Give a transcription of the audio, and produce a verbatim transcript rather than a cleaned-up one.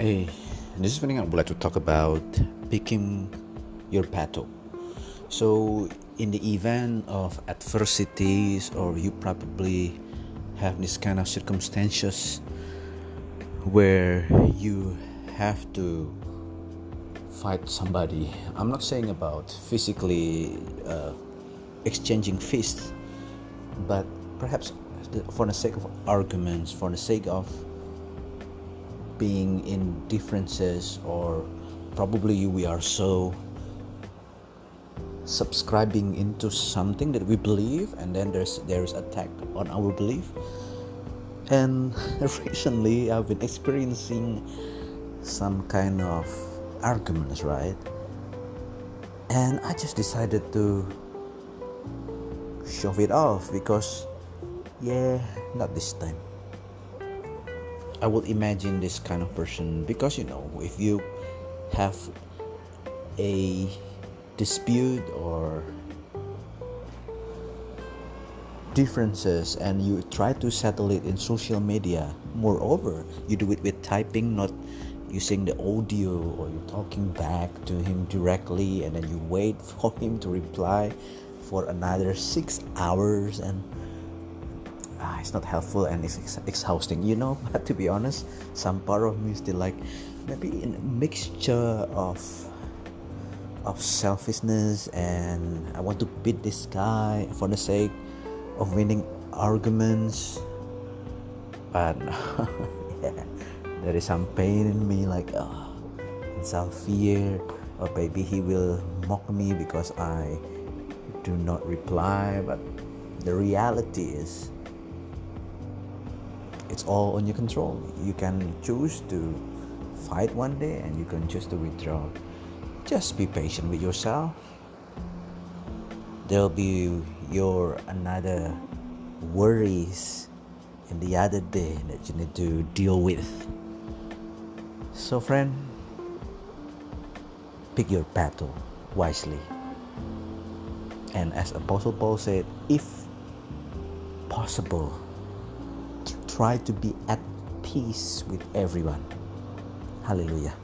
Hey, this is something I would like to talk about picking your battle. So, in the event of adversities, or you probably have this kind of circumstances where you have to fight somebody. I'm not saying about physically uh, exchanging fists, but perhaps for the sake of arguments, for the sake of being in differences, or probably we are so subscribing into something that we believe, and then there's there's attack on our belief. And recently I've been experiencing some kind of arguments, right? And I just decided to shove it off because yeah not this time. I will imagine this kind of person because you know, if you have a dispute or differences and you try to settle it in social media, moreover you do it with typing, not using the audio, or you're talking back to him directly and then you wait for him to reply for another six hours, and Ah, it's not helpful and it's ex- exhausting, you know. But to be honest, some part of me is still like maybe a mixture of of selfishness, and I want to beat this guy for the sake of winning arguments. But yeah, there is some pain in me, like oh, and some fear, or maybe he will mock me because I do not reply. But the reality is, it's all on your control. You can choose to fight one day and you can choose to withdraw. Just be patient with yourself. There'll be your another worries in the other day that you need to deal with. So friend, pick your battle wisely. And as Apostle Paul said, if possible, try to be at peace with everyone. Hallelujah.